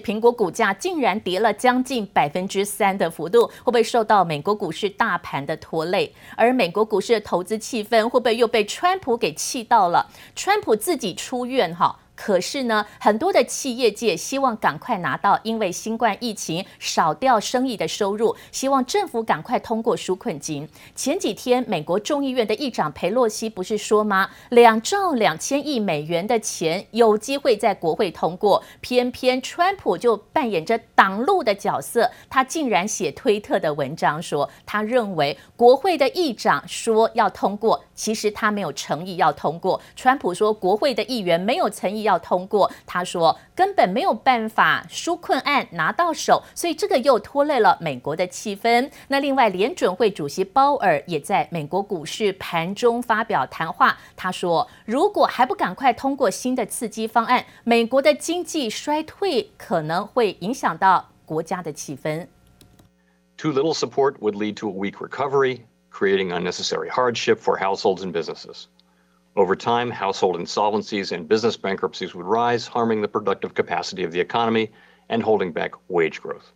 蘋果股價竟然跌了將近3%的幅度，會不會受到美國股市大盤的拖累？而美國股市的投資氣氛會不會又被川普給氣到了？川普自己出院哈。可是呢，很多的企業界希望趕快拿到因為新冠疫情少掉生意的收入，希望政府趕快通過紓困金。前幾天，美國眾議院的議長裴洛西不是說嗎？2兆2千億美元的錢有機會在國會通過，偏偏川普就扮演着擋路的角色，他竟然寫推特的文章說，他認為國會的議長說要通過，其實他沒有誠意要通過。川普說國會的議員沒有誠意要通過，他說根本沒有辦法紓困案拿到手，所以這個又拖累了美國的氣氛。那另外，聯準會主席鮑爾也在美國股市盤中發表談話，他說如果還不趕快通過新的刺激方案，美國的經濟衰退可能會影響到國家的氣氛。 Too little support would lead to a weak recovery, creating unnecessary hardship for households and businesses. Over time, household insolvencies and business bankruptcies would rise, harming the productive capacity of the economy and holding back wage growth.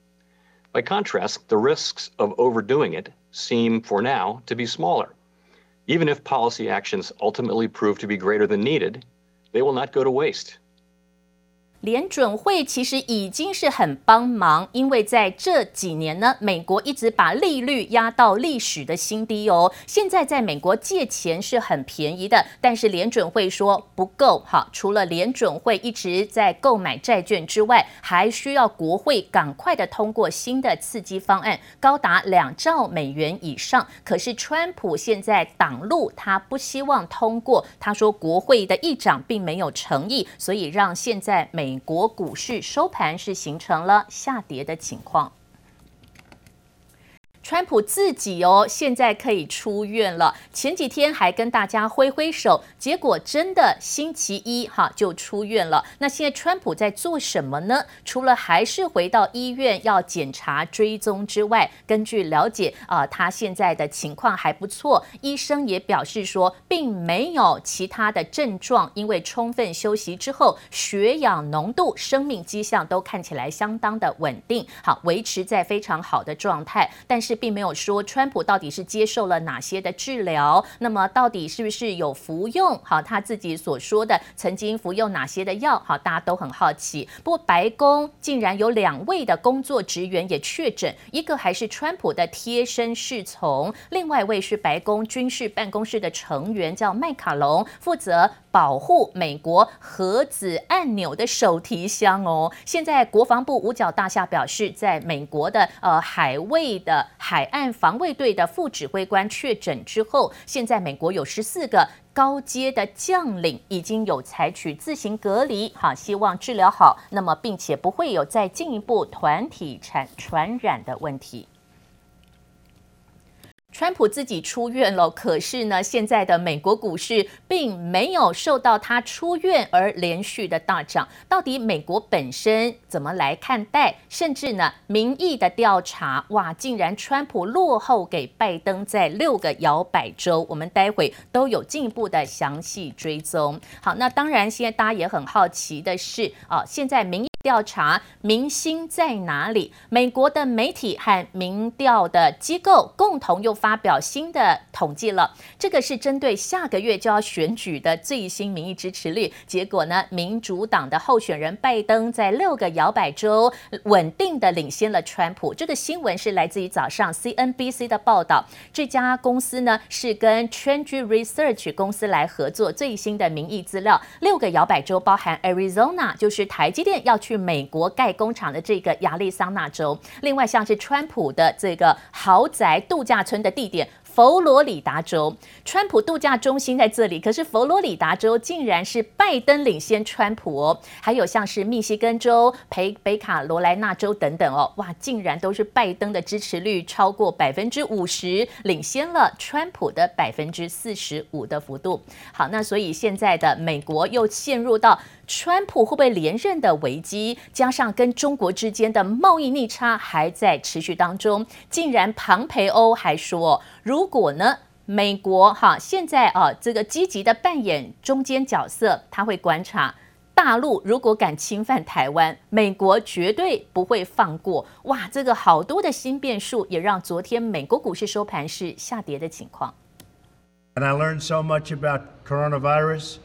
By contrast, the risks of overdoing it seem, for now, to be smaller. Even if policy actions ultimately prove to be greater than needed, they will not go to waste. 聯準會其實已經是很幫忙，因為在這幾年呢，美國一直把利率壓到歷史的新低哦。現在在美國借錢是很便宜的，但是聯準會說不夠。好，除了聯準會一直在購買債券之外，還需要國會趕快的通過新的刺激方案，高達2兆美元以上。可是川普現在擋路，他不希望通過。他說國會的議長並沒有誠意，所以讓現在美國股市收盤是形成了下跌的情況。川普自己現在可以出院了。前幾天還跟大家揮揮手，結果真的星期一就出院了。那現在川普在做什麼呢？除了還是回到醫院要檢查追蹤之外，根據了解他現在的情況還不錯。醫生也表示說，並沒有其他的症狀，因為充分休息之後，血氧濃度、生命跡象都看起來相當的穩定，好，維持在非常好的狀態。但是並沒有說川普到底是接受了哪些的治療，那麼到底是不是有服用他自己所說的曾經服用哪些的藥，大家都很好奇。不過白宮竟然有2位的工作職員也確診，一個還是川普的貼身侍從，另外一位是白宮軍事辦公室的成員，叫麥卡龍，負責保護美國核子按鈕的手提箱哦。現在國防部五角大廈表示，在美國的海衛的海岸防衛隊的副指揮官確診之後，現在美國有14個高階的將領已經有採取自行隔離，希望治療好，那麼並且不會有再進一步團體傳染的問題。川普自己出院了，可是呢，現在的美國股市並沒有受到他出院而連續的大漲。到底美國本身怎麼來看待？甚至呢，民意的調查，哇，竟然川普落後給拜登在6個搖擺州。我們待會都有進一步的詳細追蹤。好，那當然，現在大家也很好奇的是，現在民意調查民心在哪裡？美國的媒體和民調的機構共同又發表新的統計了，這個是針對下個月就要選舉的最新民意支持率。結果呢，民主黨的候選人拜登在6個搖擺州穩定的領先了川普。這個新聞是來自於早上 CNBC 的報道。這家公司呢是跟 Trendy Research 公司來合作最新的民意資料。6個搖擺州包含 Arizona， 就是台積電要去美國蓋工廠的這個亞利桑那州，另外像是川普的這個豪宅度假村的地點佛羅里達州，川普度假中心在這裡，可是佛羅里達州竟然是拜登領先川普哦。還有像是密西根州、北卡羅來納州等等哦，哇，竟然都是拜登的支持率超過50%，領先了川普的45%的幅度。好，那所以現在的美國又陷入到川普會不會連任的危機，加上跟中國之間的貿易逆差還在持續當中，竟然龐培歐還說，如果呢美國現在這個積極的扮演中間角色，他會觀察大陸如果敢侵犯台灣，美國絕對不會放過。哇，這個好多的新變數，也讓昨天美國股市收盤是下跌的情況。 And I learned so much about coronavirus.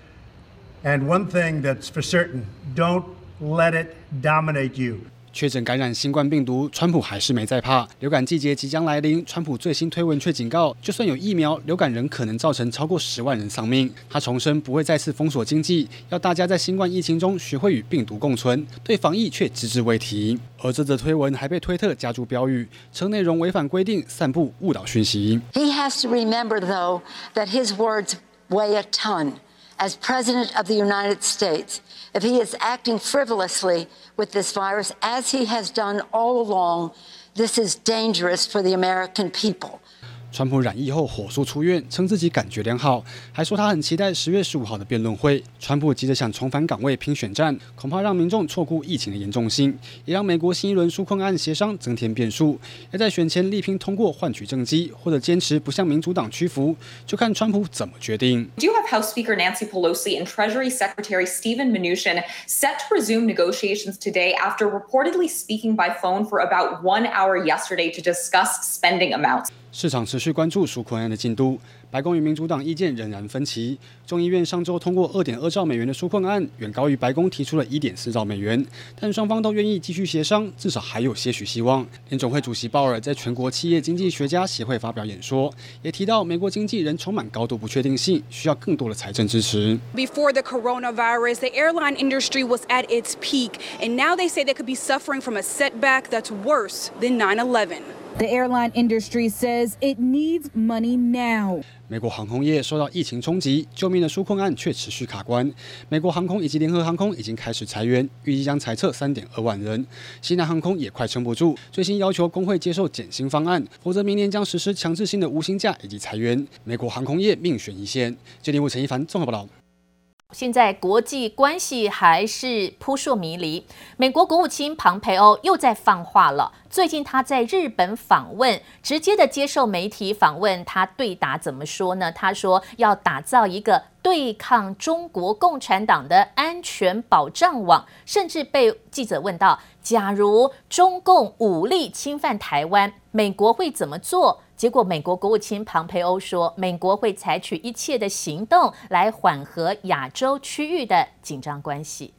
And one thing that's for certain, don't let it dominate you. 確診感染新冠病毒，川普還是沒在怕。流感季節即將來臨，川普最新推文卻警告，就算有疫苗，流感仍可能造成超過10萬人喪命。他重申不會再次封鎖經濟，要大家在新冠疫情中學會與病毒共存，對防疫卻只字未提。而這則推文還被推特加注標語，稱內容違反規定，散布誤導訊息。 He has to remember, though, that his words weigh a ton. As President of the United States, if he is acting frivolously with this virus, as he has done all along, this is dangerous for the American people. 川普染疫後火速出院，稱自己感覺良好，還說他很期待10月15號的辯論會。川普急着想重返崗位拼選戰，恐怕讓民眾錯估疫情的嚴重性，也讓美國新一輪紓困案協商增添變數。要在選前力拼通過換取政績，或者堅持不向民主黨屈服，就看川普怎麼決定。 Do you have House Speaker Nancy Pelosi and Treasury Secretary Steven Mnuchin set to resume negotiations today after reportedly speaking by phone for about 1 hour yesterday to discuss spending amounts? 市場持續關注紓困案的進度，白宮與民主黨意見仍然分歧。眾議院上週通過2.2兆美元的紓困案，遠高於白宮提出了1.4兆美元，但雙方都願意繼續協商，至少還有些許希望。聯準會主席鮑爾在全國企業經濟學家協會發表演說，也提到美國經濟仍充滿高度不確定性，需要更多的財政支持。 Before the coronavirus, the airline industry was at its peak, and now they say they could be suffering from a setback that's worse than 9/11.The airline industry says it needs money now. 美國航空業受到疫情衝擊，救命的紓困案卻持續卡關。美國航空以及聯合航空已經開始裁員，預計將裁撤3.2萬人。西南航空也快撐不住，最新要求工會接受減薪方案，否則明年將實施強制性的無薪假以及裁員。美國航空業命懸一線。記者陳一凡綜合報道。 現在國際關係還是撲朔迷離，美國國務卿龐培歐又在放話了。最近他在日本訪問，直接的接受媒體訪問，他對答怎麼說呢？他說要打造一個對抗中國共產黨的安全保障網，甚至被記者問到，假如中共武力侵犯台灣，美國會怎麼做？結果美國國務卿龐培歐說，美國會採取一切的行動來緩和亞洲區域的緊張關係。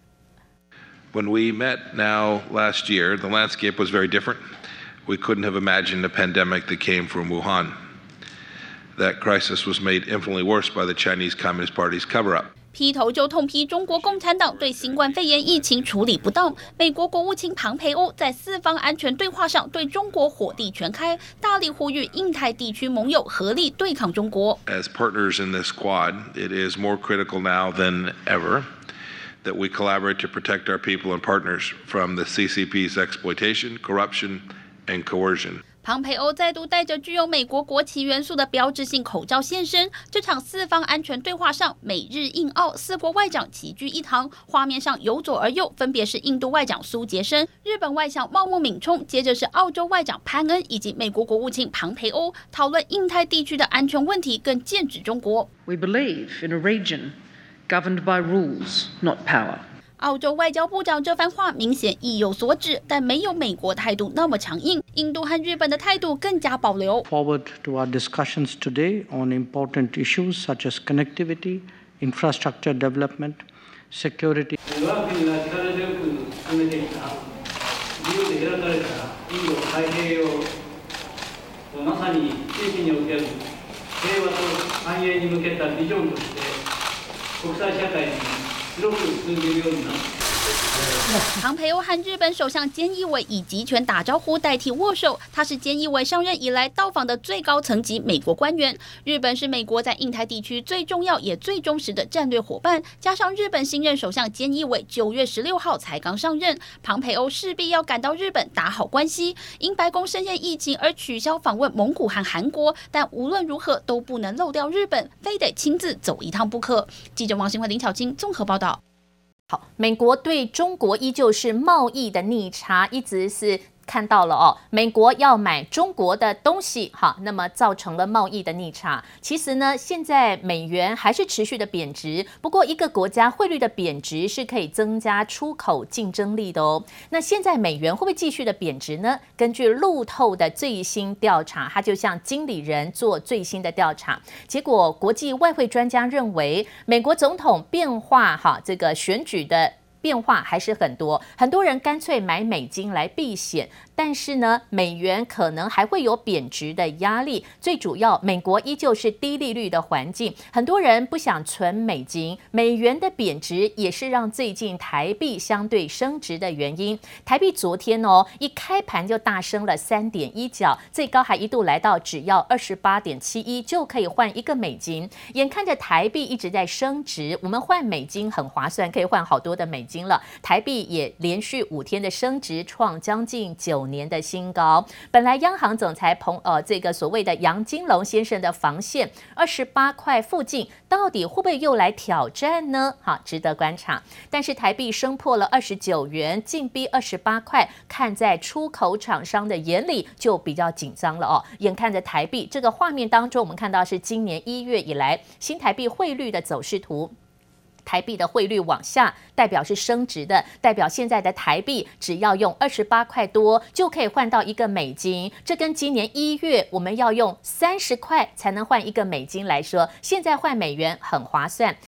When we met now last year, the landscape was very different. We couldn't have imagined a pandemic that came from Wuhan. That crisis was made infinitely worse by the Chinese Communist Party's cover-up. 劈頭就痛批中國共產黨對新冠肺炎疫情處理不當。美國國務卿龐培歐在四方安全對話上對中國火力全開，大力呼籲印太地區盟友合力對抗中國。 As partners in this squad, it is more critical now than ever that we collaborate to protect our people and partners from the CCP's exploitation, corruption, and coercion. 龐培歐再度帶着具有美國國旗元素的標誌性口罩現身，這場四方安全對話上，美日印澳四國外長齊聚一堂，畫面上由左而右分別是印度外長蘇傑生、日本外相茂木敏充，接着是澳洲外長潘恩以及美國國務卿龐培歐，討論印太地區的安全問題，更劍指中國。 We believe in a region governed by rules, not power. 澳洲外交部長這番話明顯意有所指，但沒有美國態度那麼強硬。印度和日本的態度更加保留。 Forward to our discussions today on important issues such as connectivity, infrastructure development, security. 我国が力強く進めていた自由で開かれたインド太平洋、まさに地域における平和と繁栄に向けたビジョンとして国際社会に龐培歐和日本首相菅義偉以集權打招呼代替握手，他是菅義偉上任以來到訪的最高層級美國官員。日本是美國在印太地區最重要也最忠實的戰略夥伴，加上日本新任首相菅義偉9月16號才剛上任，龐培歐勢必要趕到日本打好關係。因白宮深陷疫情而取消訪問蒙古和韓國，但無論如何都不能漏掉日本，非得親自走一趟不可。記者王新慧、林巧晶綜合報道。 好，美國對中國依舊是貿易的逆差，一直是看到了哦，美國要買中國的東西，好，那麼造成了貿易的逆差。其實呢，現在美元還是持續的貶值，不過一個國家匯率的貶值是可以增加出口競爭力的哦。那現在美元會不會繼續的貶值呢？根據路透的最新調查，它就向經理人做最新的調查，結果國際外匯專家認為，美國總統變化這個選舉的變化還是很多，很多人乾脆買美金來避險，但是呢，美元可能還會有貶值的壓力。最主要，美國依舊是低利率的環境，很多人不想存美金，美元的貶值也是讓最近台幣相對升值的原因。台幣昨天一開盤就大升了3.1角，最高還一度來到只要28.71就可以換一個美金。眼看着台幣一直在升值，我們換美金很划算，可以換好多的美金了。台幣也連續5天的升值，創將近9年的新高。本來央行總裁這個所謂的楊金龍先生的防線28塊附近，到底會不會又來挑戰呢？好，值得觀察。但是台幣升破了29元，進逼28塊，看在出口廠商的眼裡就比較緊張了哦。眼看着台幣這個畫面當中，我們看到是今年1月以來新台幣匯率的走勢圖。台幣的匯率往下，代表是升值的，代表現在的台幣只要用28塊多就可以換到一個美金。這跟今年1月我們要用30塊才能換一個美金來說，現在換美元很划算。